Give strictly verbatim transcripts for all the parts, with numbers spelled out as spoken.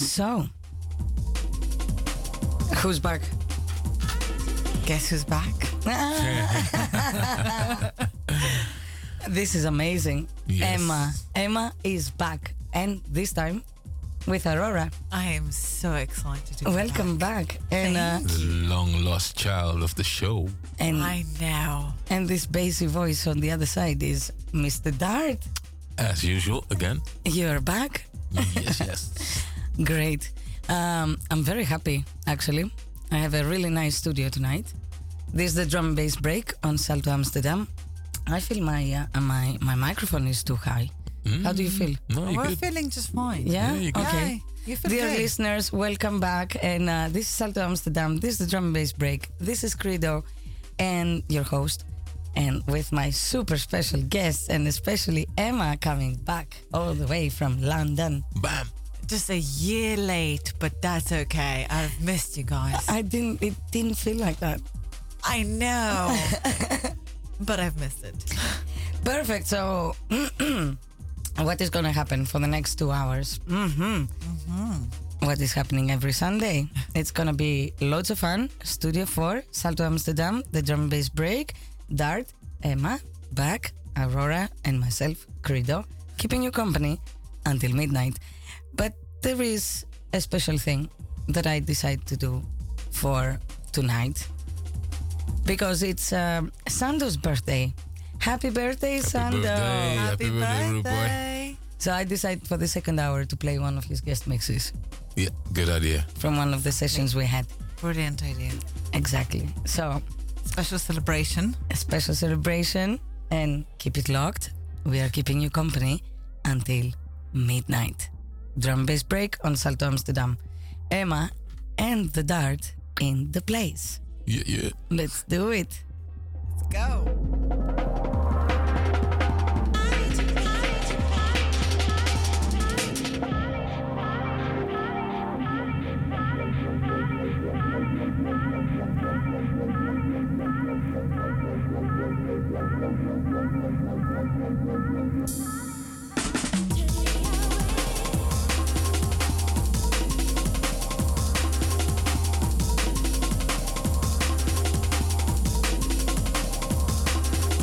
So, who's back? Guess who's back? This is amazing. Yes. Emma. Emma is back. And this time with Aurora. I am so excited to be Welcome back. back. And uh, The long lost child of the show. and I know. and this bassy voice on the other side is Mister Dart. As usual, again. You're back. Yes, yes. Great. Um, I'm very happy, actually. I have a really nice studio tonight. This is the drum and bass break on Salto Amsterdam. I feel my uh, my my microphone is too high. Mm. How do you feel? No, you're We're good. feeling just fine. Yeah? Yeah, you're good. Okay. Yeah, you feel Dear good. listeners, welcome back. And uh, this is Salto Amsterdam. This is the drum and bass break. This is Credo and your host. And with my super special guests, and especially Emma coming back all the way from London. Bam. Just a year late, but that's okay. I've missed you guys. I didn't, it didn't feel like that. I know. But I've missed it. Perfect. So, what is going to happen for the next two hours? Mm-hmm. What is happening every Sunday? It's going to be loads of fun. Studio four, Salto Amsterdam, the drum and bass break, Dart, Emma, back, Aurora, and myself, Credo, keeping you company until midnight. But there is a special thing that I decided to do for tonight because it's um, Sando's birthday. Happy birthday, Happy Sando! birthday. Happy birthday, rude boy. So I decided for the second hour to play one of his guest mixes Yeah, good idea. from one of the sessions we had. Brilliant idea. Exactly. So Special celebration. a special celebration and keep it locked. We are keeping you company until midnight. Drum bass break on Salto Amsterdam. Emma and the Dart in the place. Yeah, yeah. Let's do it. Let's go. Happy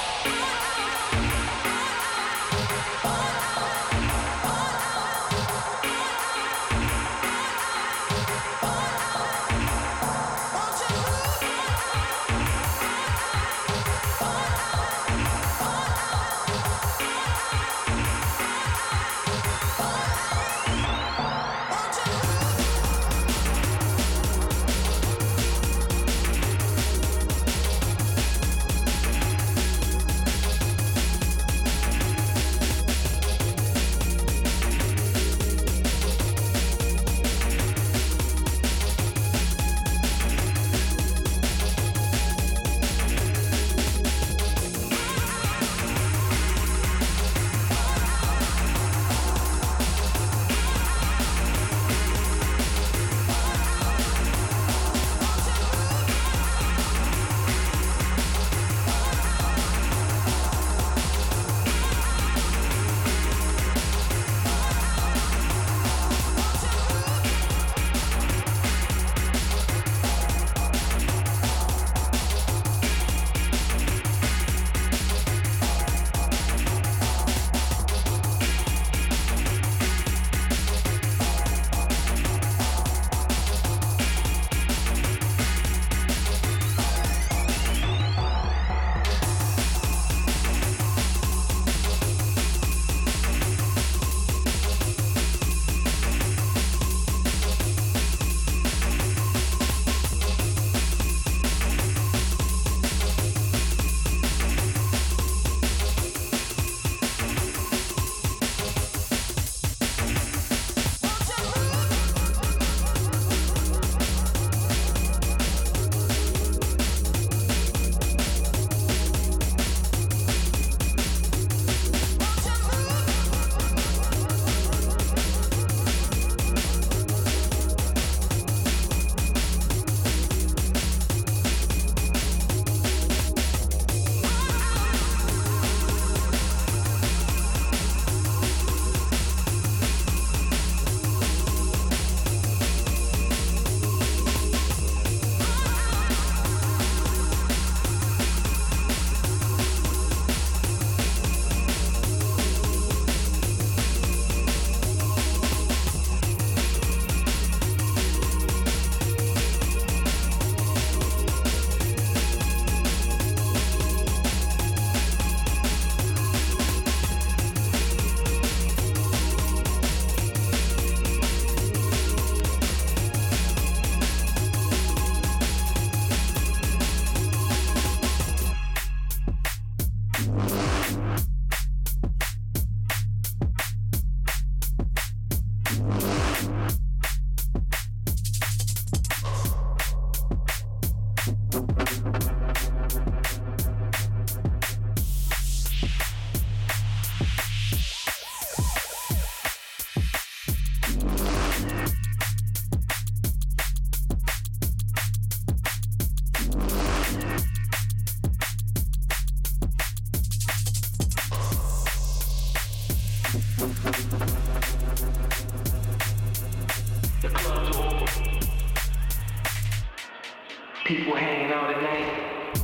People hanging out at night.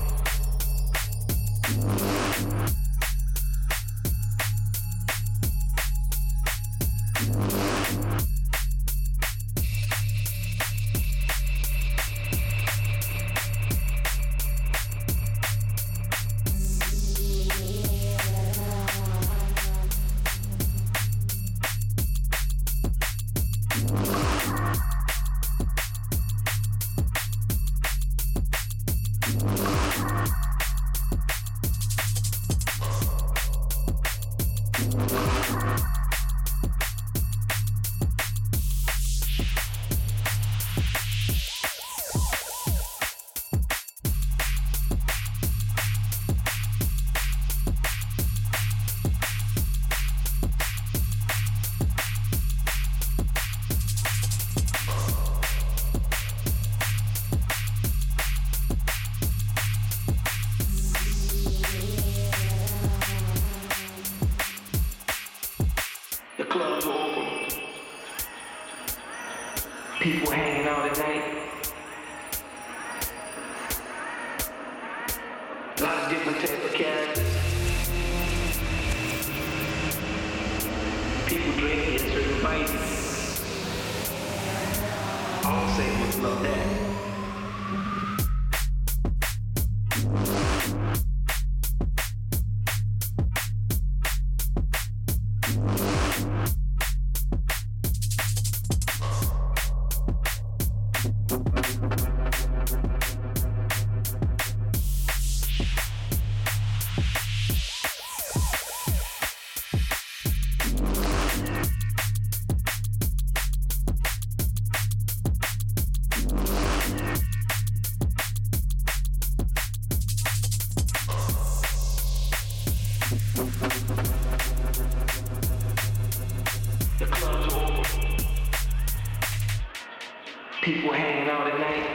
People hanging out at night. Lots of different types of characters. love that. The club's open. People hanging out at night.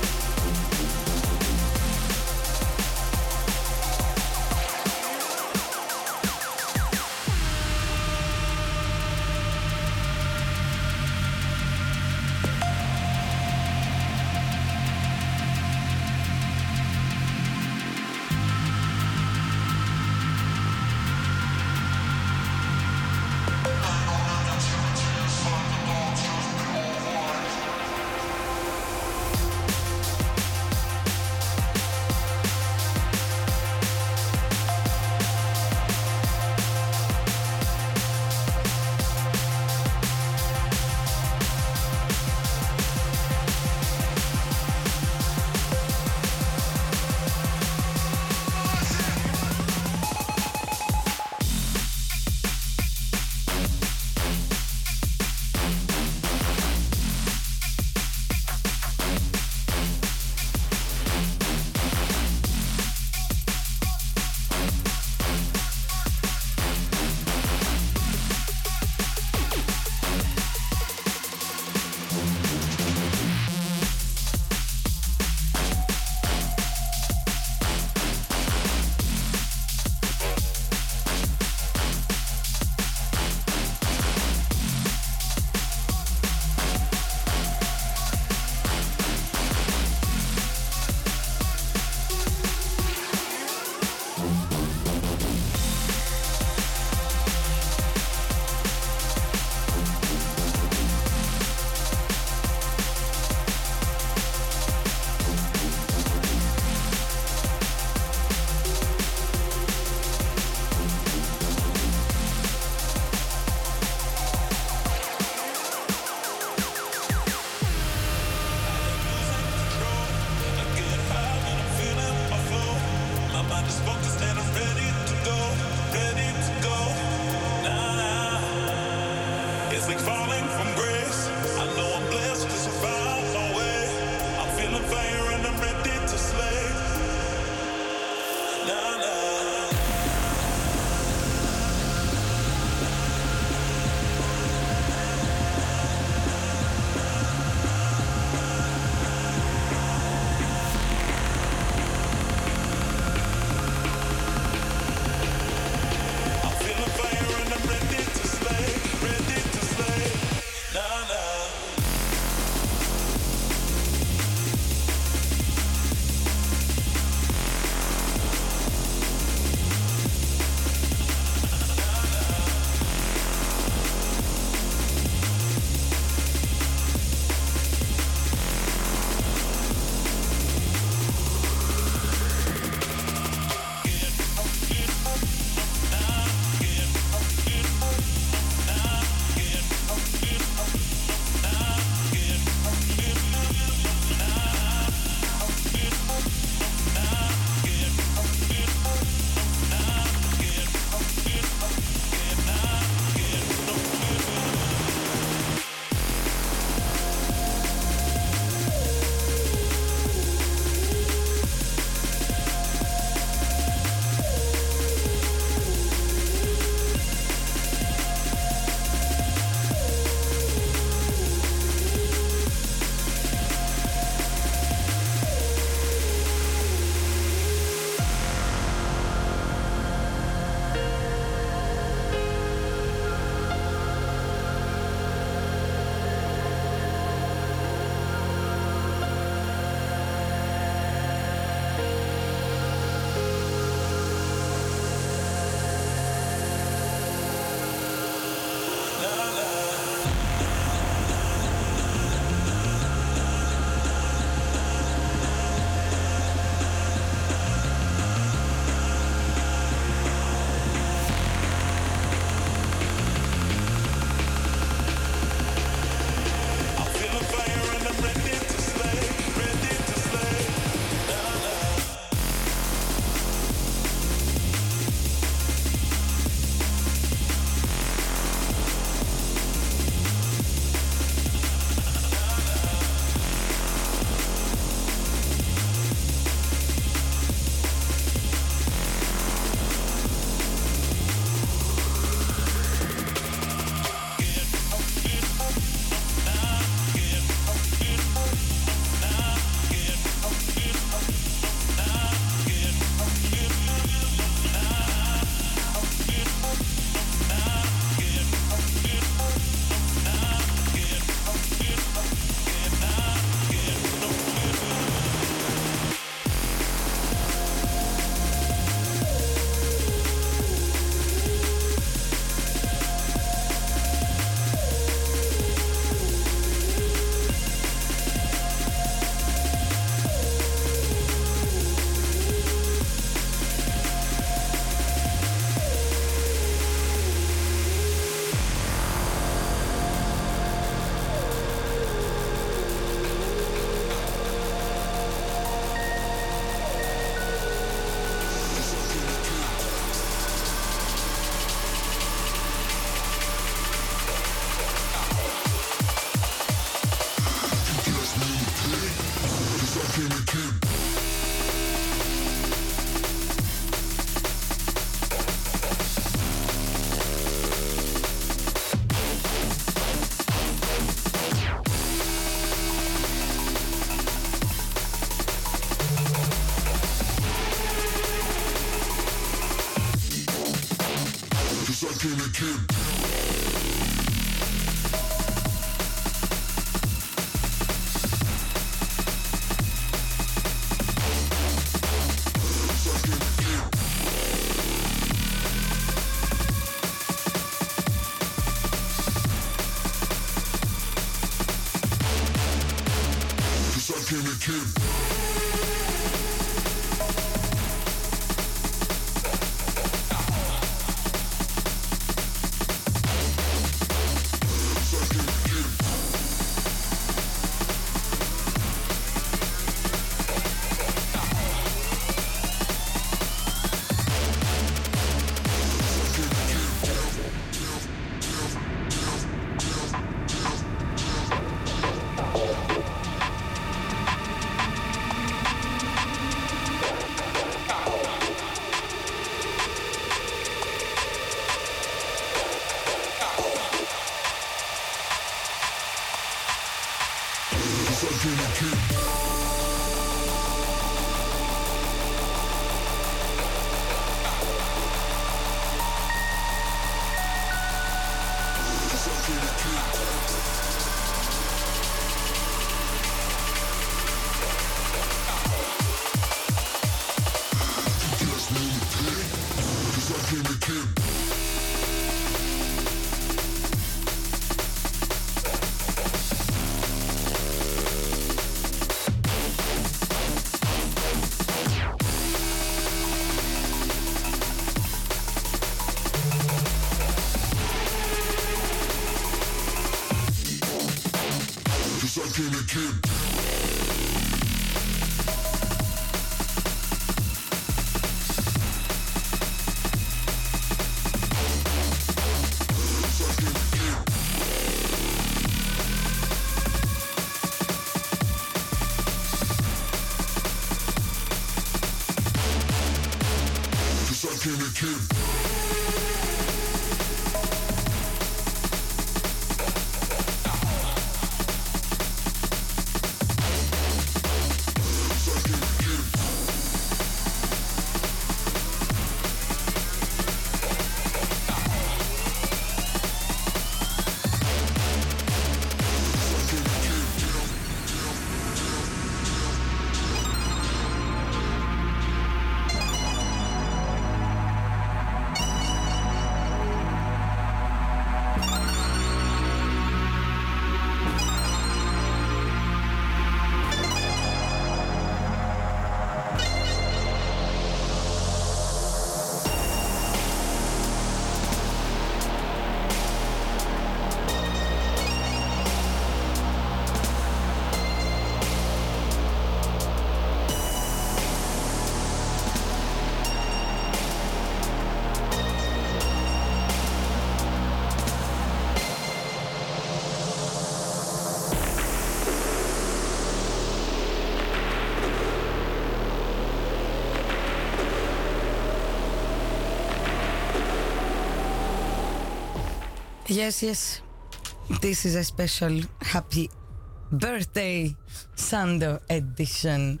Yes, yes. This is a special happy birthday Sando edition.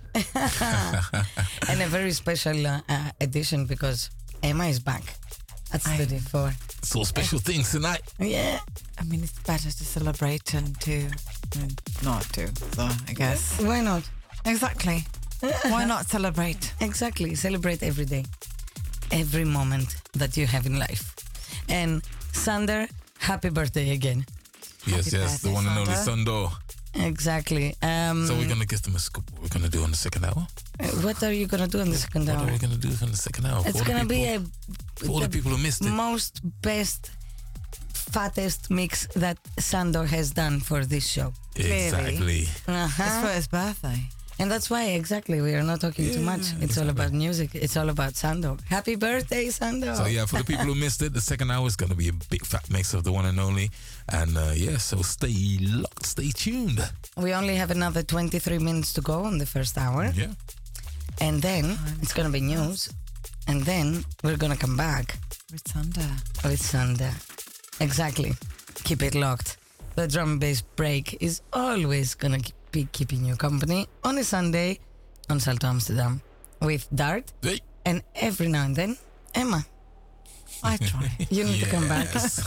And a very special uh, uh, edition because Emma is back at I- Studio four. So special things tonight. Yeah. I mean, it's better to celebrate and to and not to, so I guess. Why not? Exactly. Why not celebrate? Exactly. Celebrate every day, every moment that you have in life. And Sander, happy birthday again. Yes, Happy yes, the birthday, one and only Sando. Sundo. Exactly. Um, So we're gonna give them a scoop. What we're gonna do in the second hour? what are you going to do in the second What hour? are we gonna do in the second hour? It's For all the going to be people- a for all the people who missed it. most best, fattest mix that Sandor has done for this show. Exactly. It's Uh-huh. for his birthday. And that's why, exactly, we are not talking too much. It's all about music. It's all about Sandor. Happy birthday, Sandor. So yeah, for the people who missed it, the second hour is gonna be a big fat mix of the one and only. And uh, yeah, so stay locked, stay tuned. We only have another twenty-three minutes to go on the first hour. Yeah. And then it's going to be news. And then we're going to come back Ritsanda. with Sandor. Exactly. Keep it locked. The drum and bass break is always going to be keeping you company on a Sunday on Salto Amsterdam with Dart Hey. and every now and then Emma. I try. You need to come back. Yes.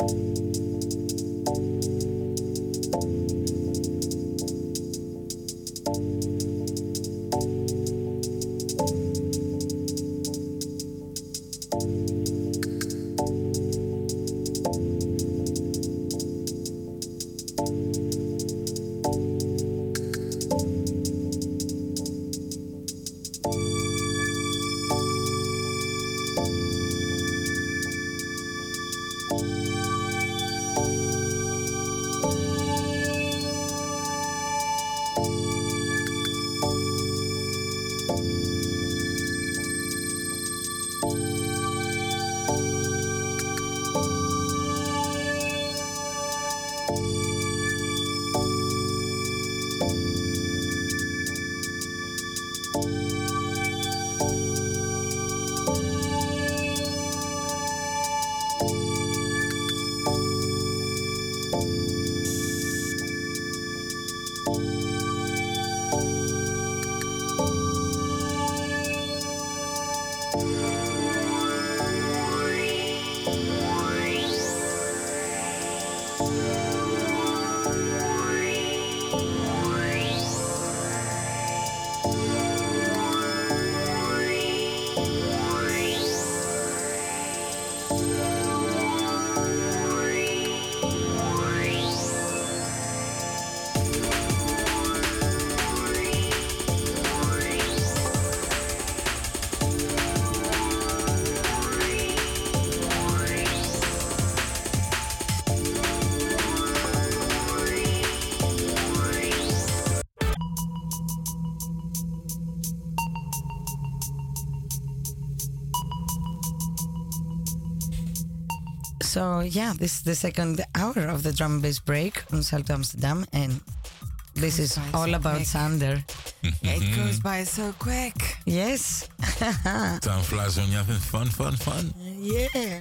So yeah, this is the second hour of the drum and bass break on Salto Amsterdam, and this is by all so about quick. Sander. It goes by so quick. Yes. Time flies when you're having fun, fun, fun. Yeah.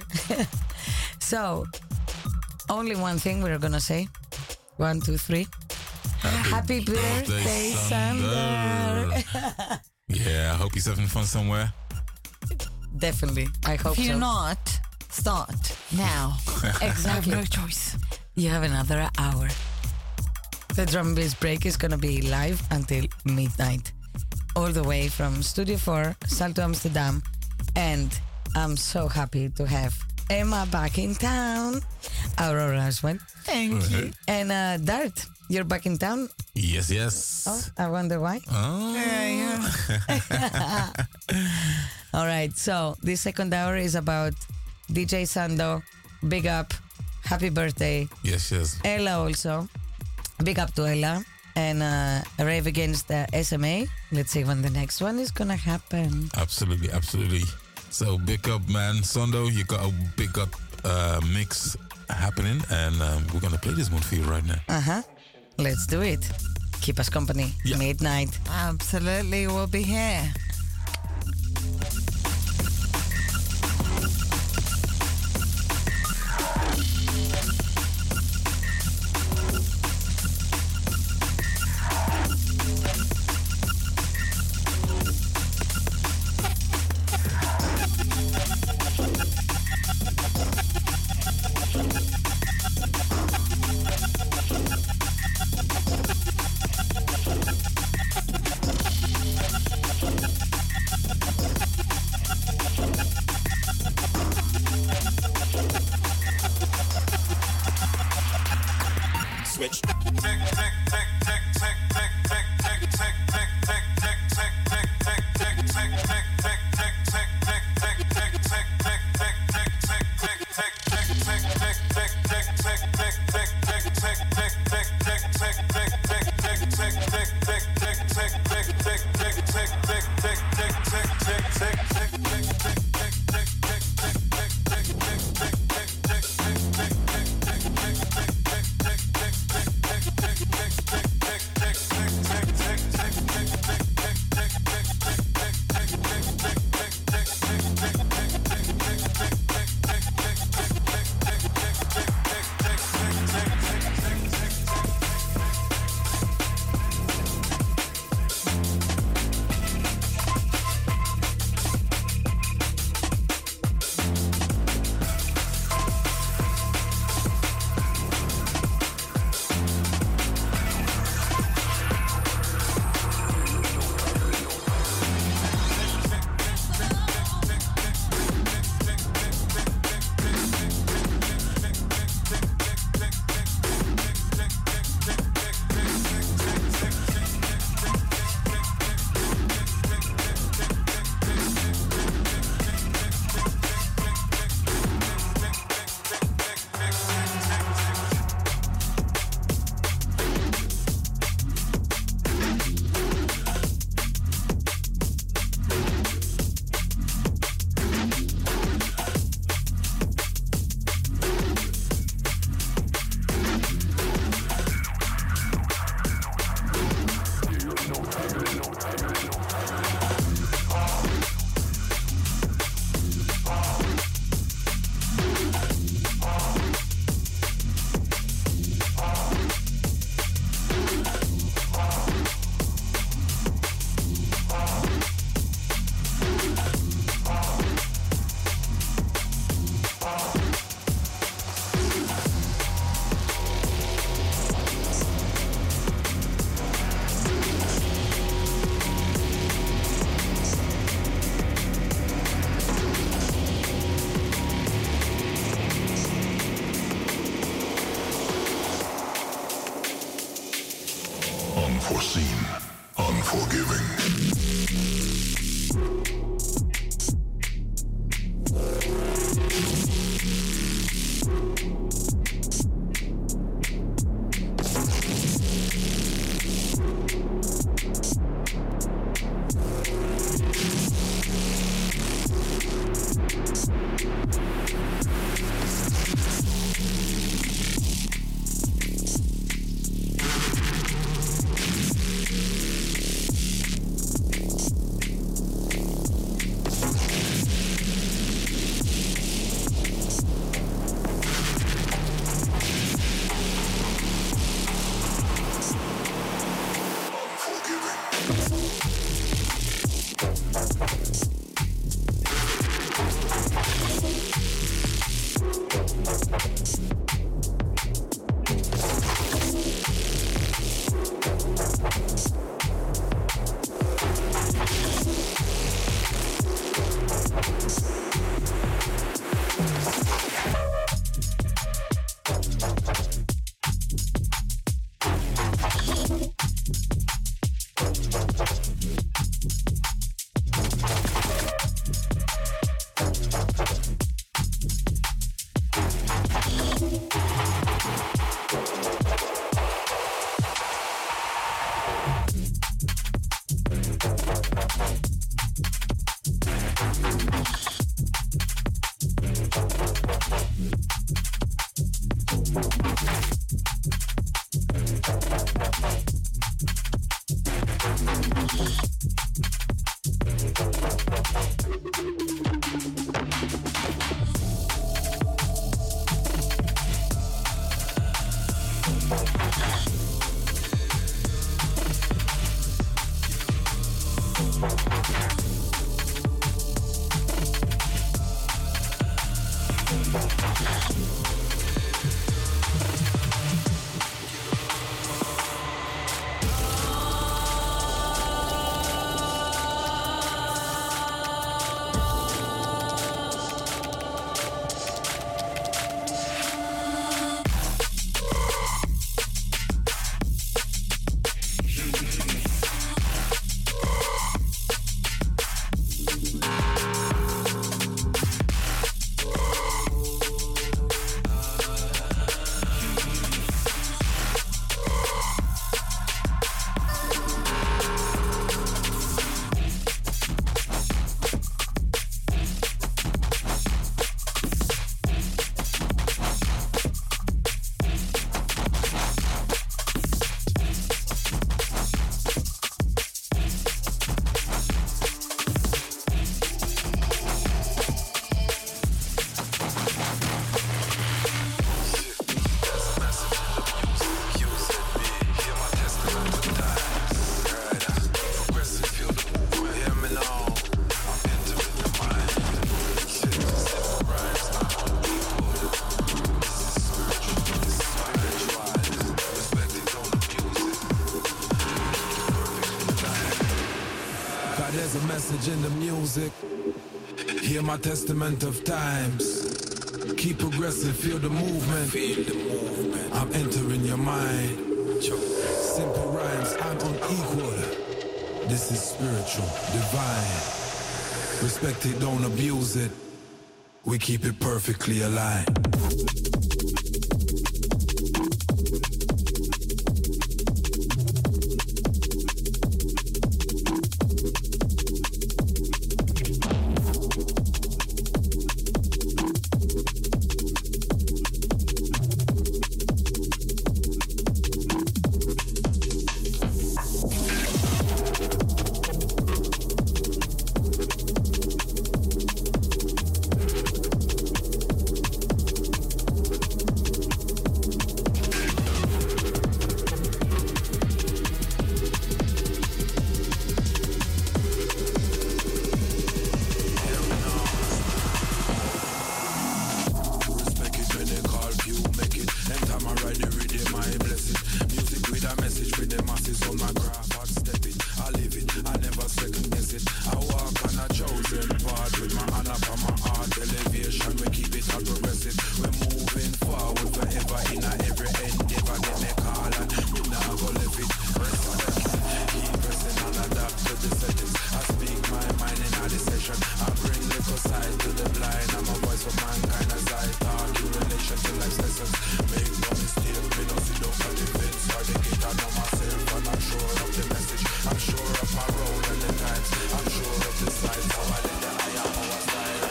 So, only one thing we're gonna say. One, two, three. Happy birthday, Sander. Yeah, I hope he's having fun somewhere. Definitely. I hope If you're so. not, start now. I have Exactly. no choice. You have another hour. The drum and bass break is gonna be live until midnight, all the way from Studio four, Salto Amsterdam, and I'm so happy to have Emma back in town, Aurora as well, Thank you. and uh, Dart. You're back in town. Yes, yes. Oh, I wonder why. Oh. Yeah, yeah. All right, so this second hour is about D J Sando. Big up, happy birthday. Yes, yes. Ella also. Big up to Ella. And uh, a rave against the S M A. Let's see when the next one is gonna happen. Absolutely, absolutely. So big up, man. Sondo, you got a big up uh, mix happening, and um, we're gonna play this one for you right now. Uh huh. Let's do it. Keep us company. Yeah. Midnight. Absolutely, we'll be here. Switch. unforeseen, unforgiving. In the music, hear my testament of times. Keep progressing, feel the movement. Feel the movement. I'm entering your mind. Simple rhymes, I'm unequal. This is spiritual, divine. Respect it, don't abuse it. We keep it perfectly aligned. for mankind as I talk in relation to life's lessons. Make no mistake, me no see no events or the gate. I know myself and I'm sure of the message. I'm sure of my role and the times. I'm sure of the size. So I let the I am our style.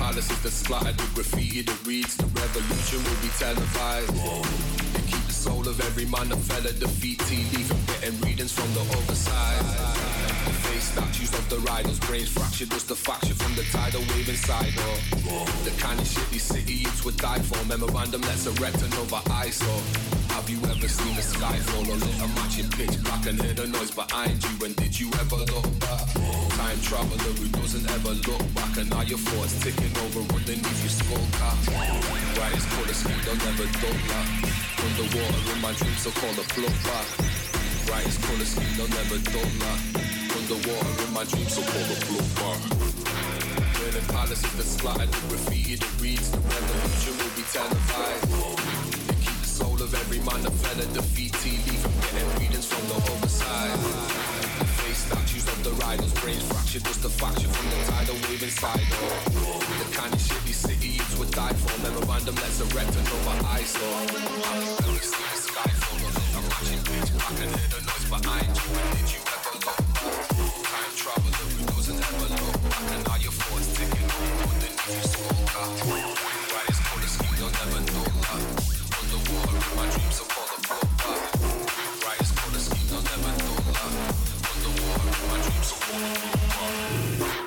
palaces that splattered with graffiti that reads the revolution will be televised. They keep the soul of every man that fell at defeat. Tea leaf and getting readings from the other side. The face statues of the riders, brains fractured just a faction from the tidal wave inside. Oh, the kind of shit these city youths would die for. Memorandum, let's erect another eyesore. Have you ever seen the sky fall or lit a match in pitch black and hear the noise behind you? And did you ever look back? Time traveler who doesn't ever look back, and now your thoughts ticking over underneath your skull cap. Brightest colour scheme, they'll never dull that. Underwater in my dreams, so call the plug back. Brightest colour scheme, they'll never dull that. Underwater in my dreams, so call the plug back. Burning palaces that splattered with graffiti that reads the revolution will be televised. Soul of every man that fell at defeat. Tea leaf and getting readings from the other side. The face statues of the riders, brains fractured just a faction from the tidal wave inside. Oh, the kind of shit these city youths would die for. Memorandum, let's erect another eyesore. Have you ever seen the sky fall or lit a matching pitch black and hear the noise behind you? And did you ever look back? Time traveler who doesn't ever look back, and now your thoughts ticking over underneath your skull cap. Brightest colour scheme, they'll never know that. Underwater in my dreams, so call the plug back. Brightest colour scheme, they'll never know that. Underwater in my dreams, so call the plug back.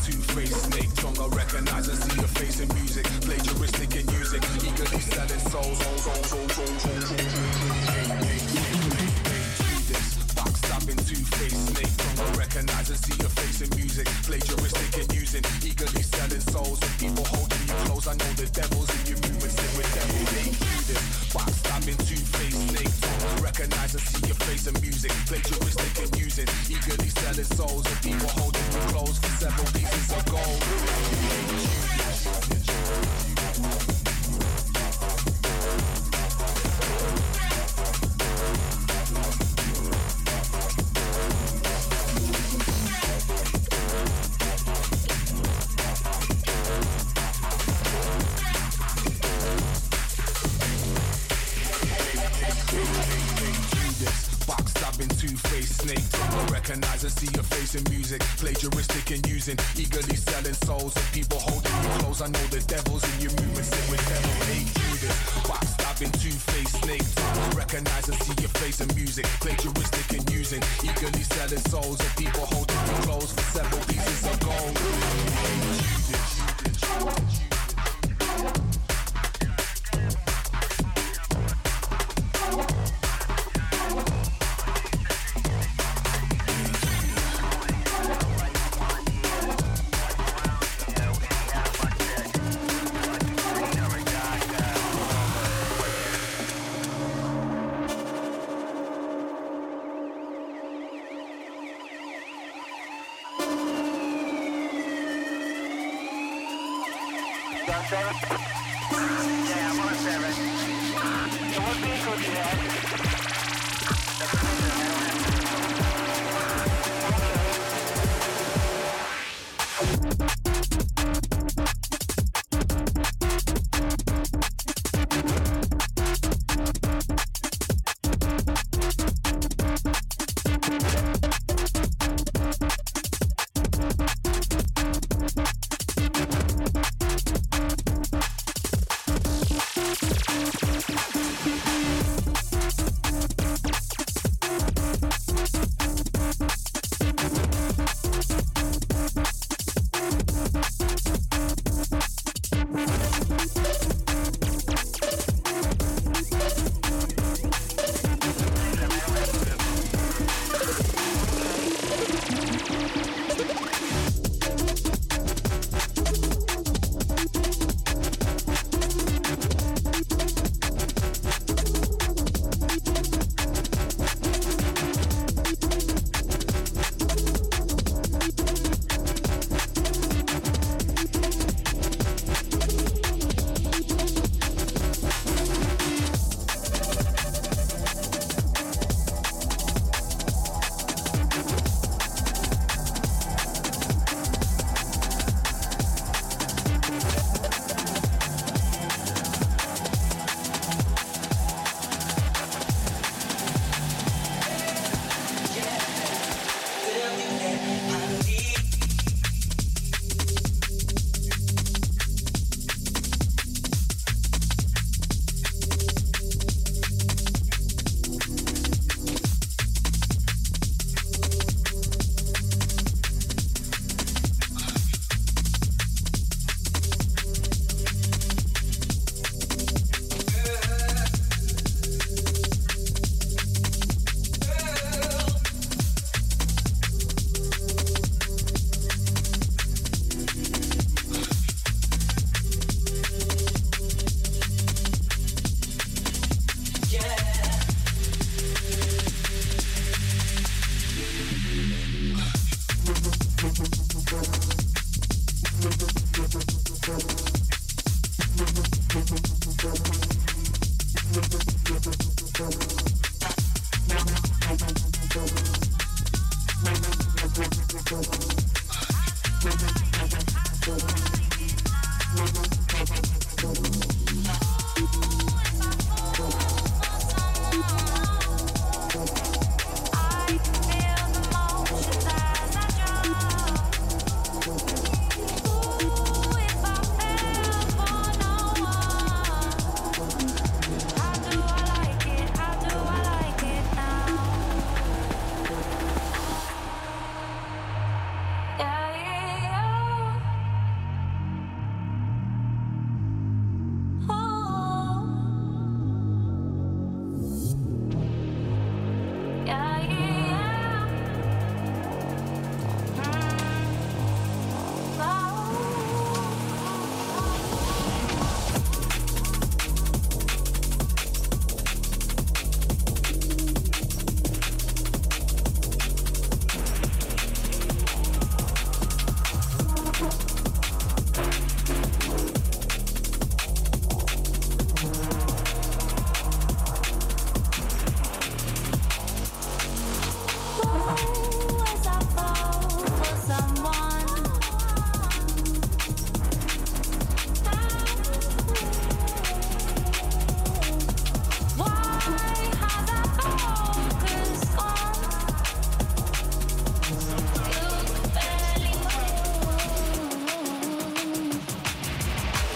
two-faced snake tongue. I recognize and see your face in music, plagiaristic and using, eagerly selling souls. Backstabbing two-faced snake tongue. I recognize and see your face in music, plagiaristic and using, eagerly selling souls. With people holding you close, I know the devil's in your movements. Sit with devil, they do this. Backstabbing two-faced snake tongue. Recognize and see your face in music, plagiaristic and using, eagerly selling souls. With people holding you close for several pieces of gold. Two-faced snake tongue. I recognize and see your face in music, plagiaristic and using, eagerly selling souls. And people holding you close, I know the devil's in your movements. Sit with devil, hey Judas. Backstabbing two-faced snake tongue. Recognize and see your face in music, plagiaristic and using, eagerly selling souls. And people holding you close for several pieces of gold. Hey Judas.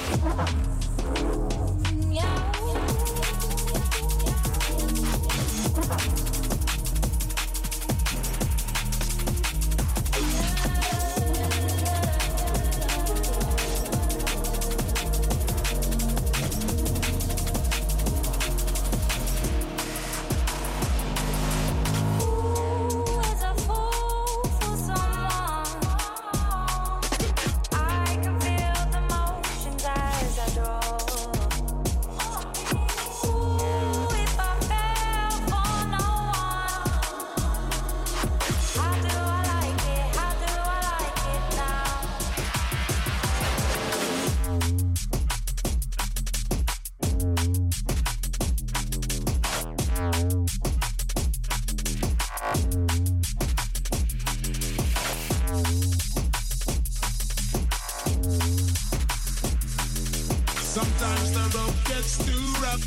Sometimes the road gets too rough.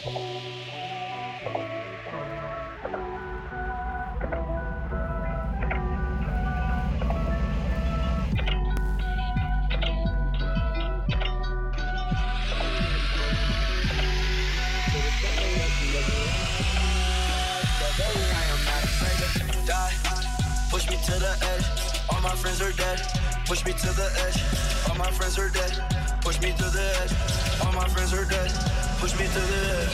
Push me to the edge, all my friends are dead. Push me to the edge, all my friends are dead. Push me to the edge, all my friends are dead. Push me to the edge.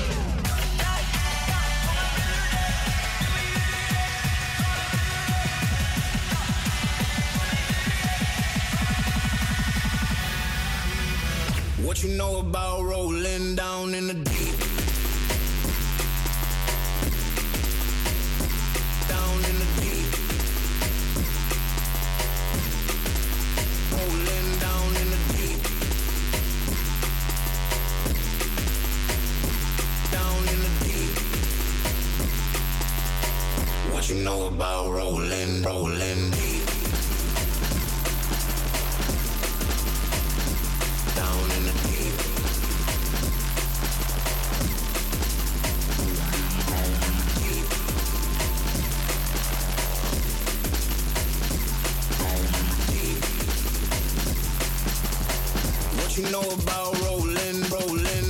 What you know about rolling down in the deep? Down in the deep. Rolling down in the deep. Down in the deep. What you know about rolling, rolling deep? Down in the deep. Deep. Deep. What you know about rolling, rolling?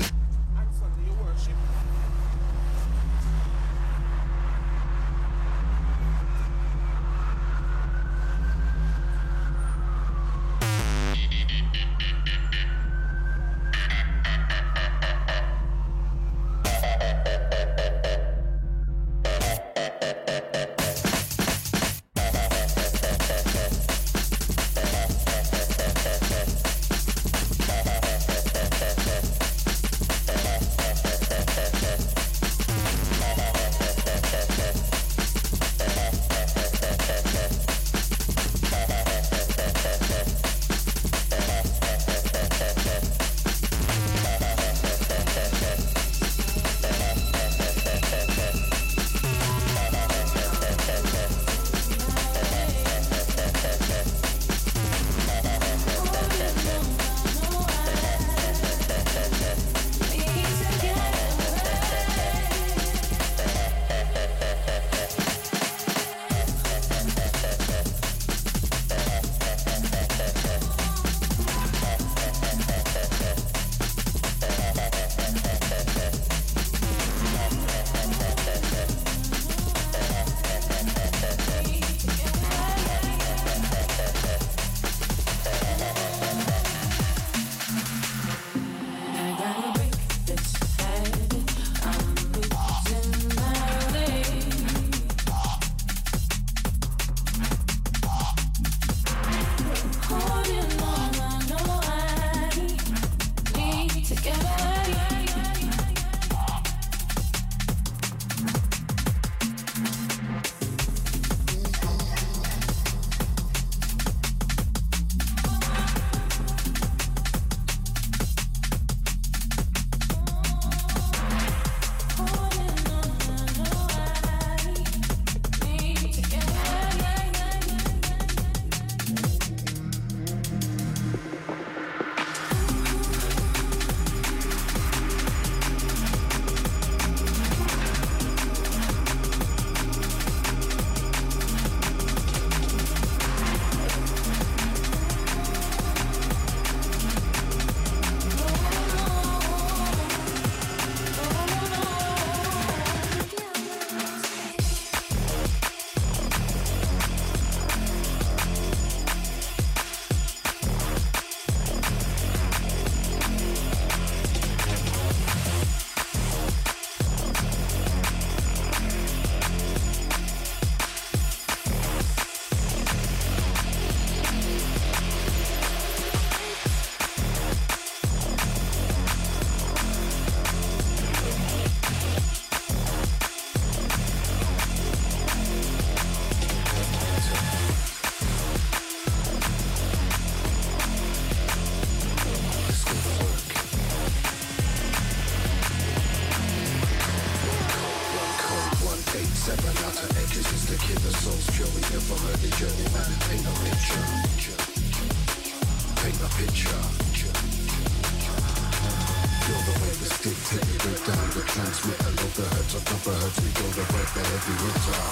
Paint a picture. Feel the way this stick, take it break down the transmitter, love the hertz, on top of hertz, we go to work the heavy hitter.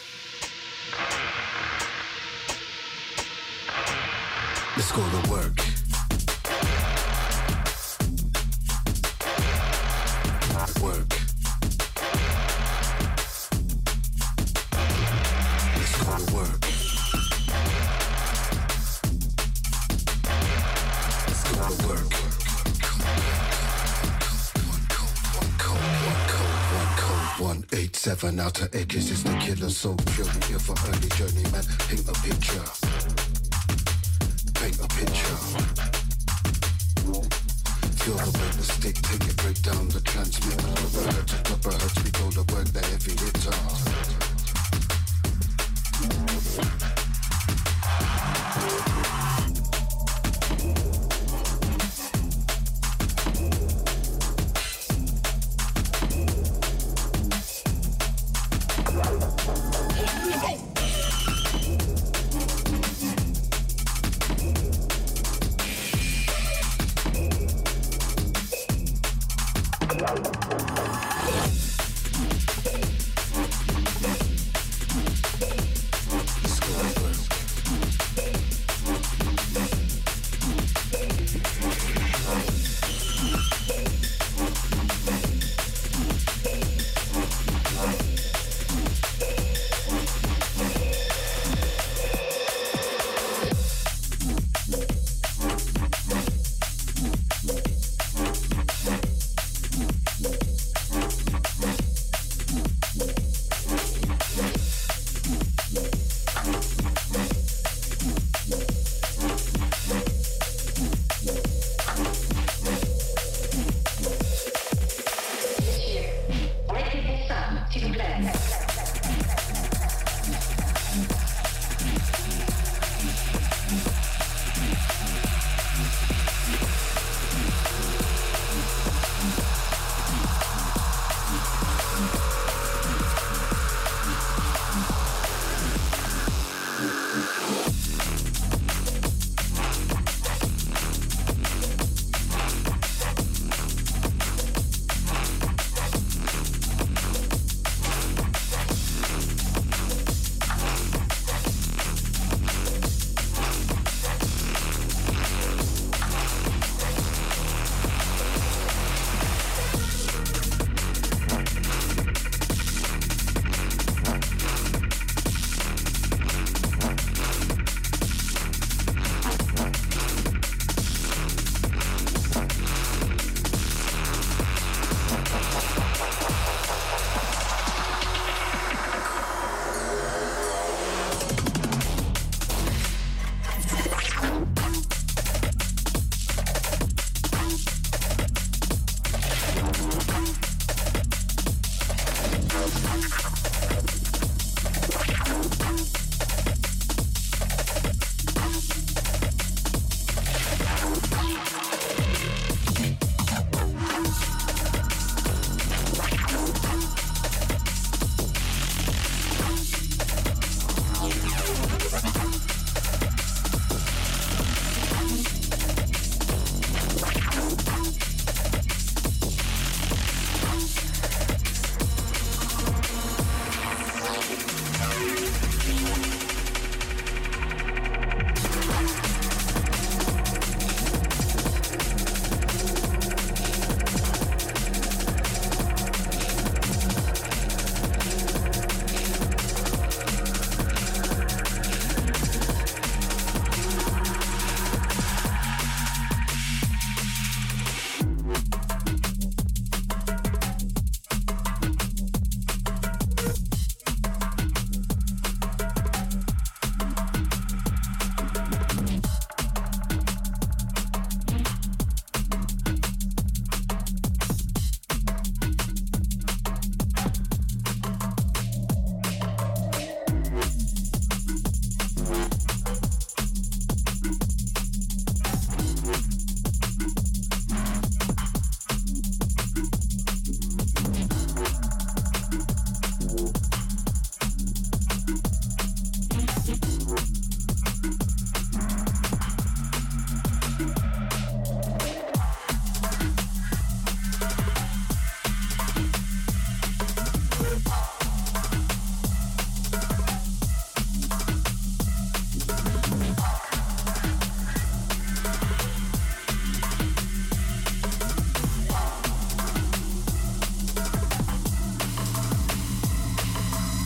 Let's go to work. Work. Let's go to work. Let's go to work. one eight seven outer edges is the killer, so pure. We here for early journey, man. Paint a picture. Paint a picture. Feel the weight, the stick, take it, break down the transmitter. Upper hertz, upper hertz, we go to work, the heavy hitter.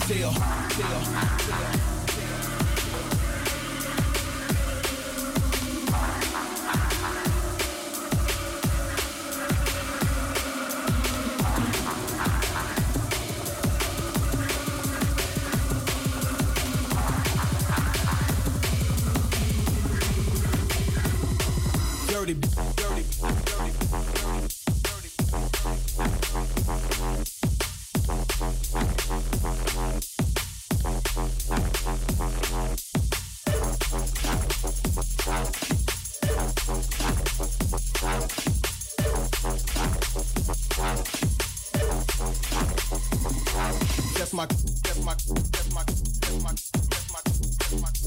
feel, feel, feel. Dirty, dirty, dirty, That's my, that's my, that's my, that's my, that's my, that's my,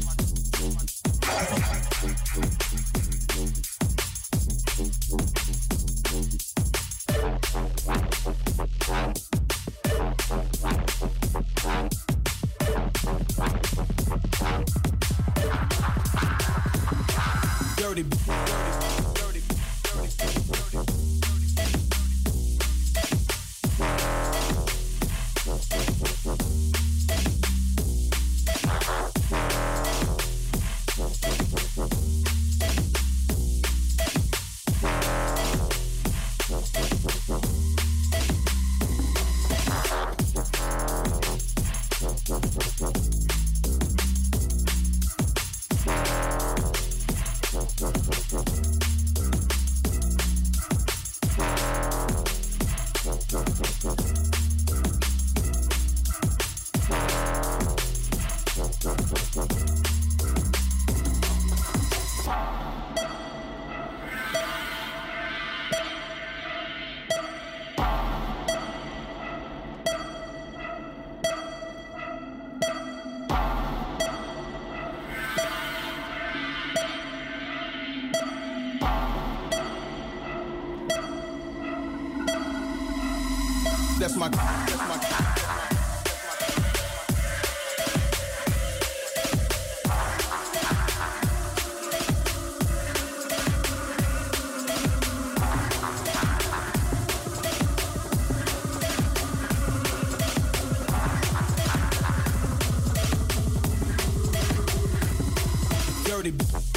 dirty, dirty, dirty, dirty, That's my, that's my, that's my. Dirty.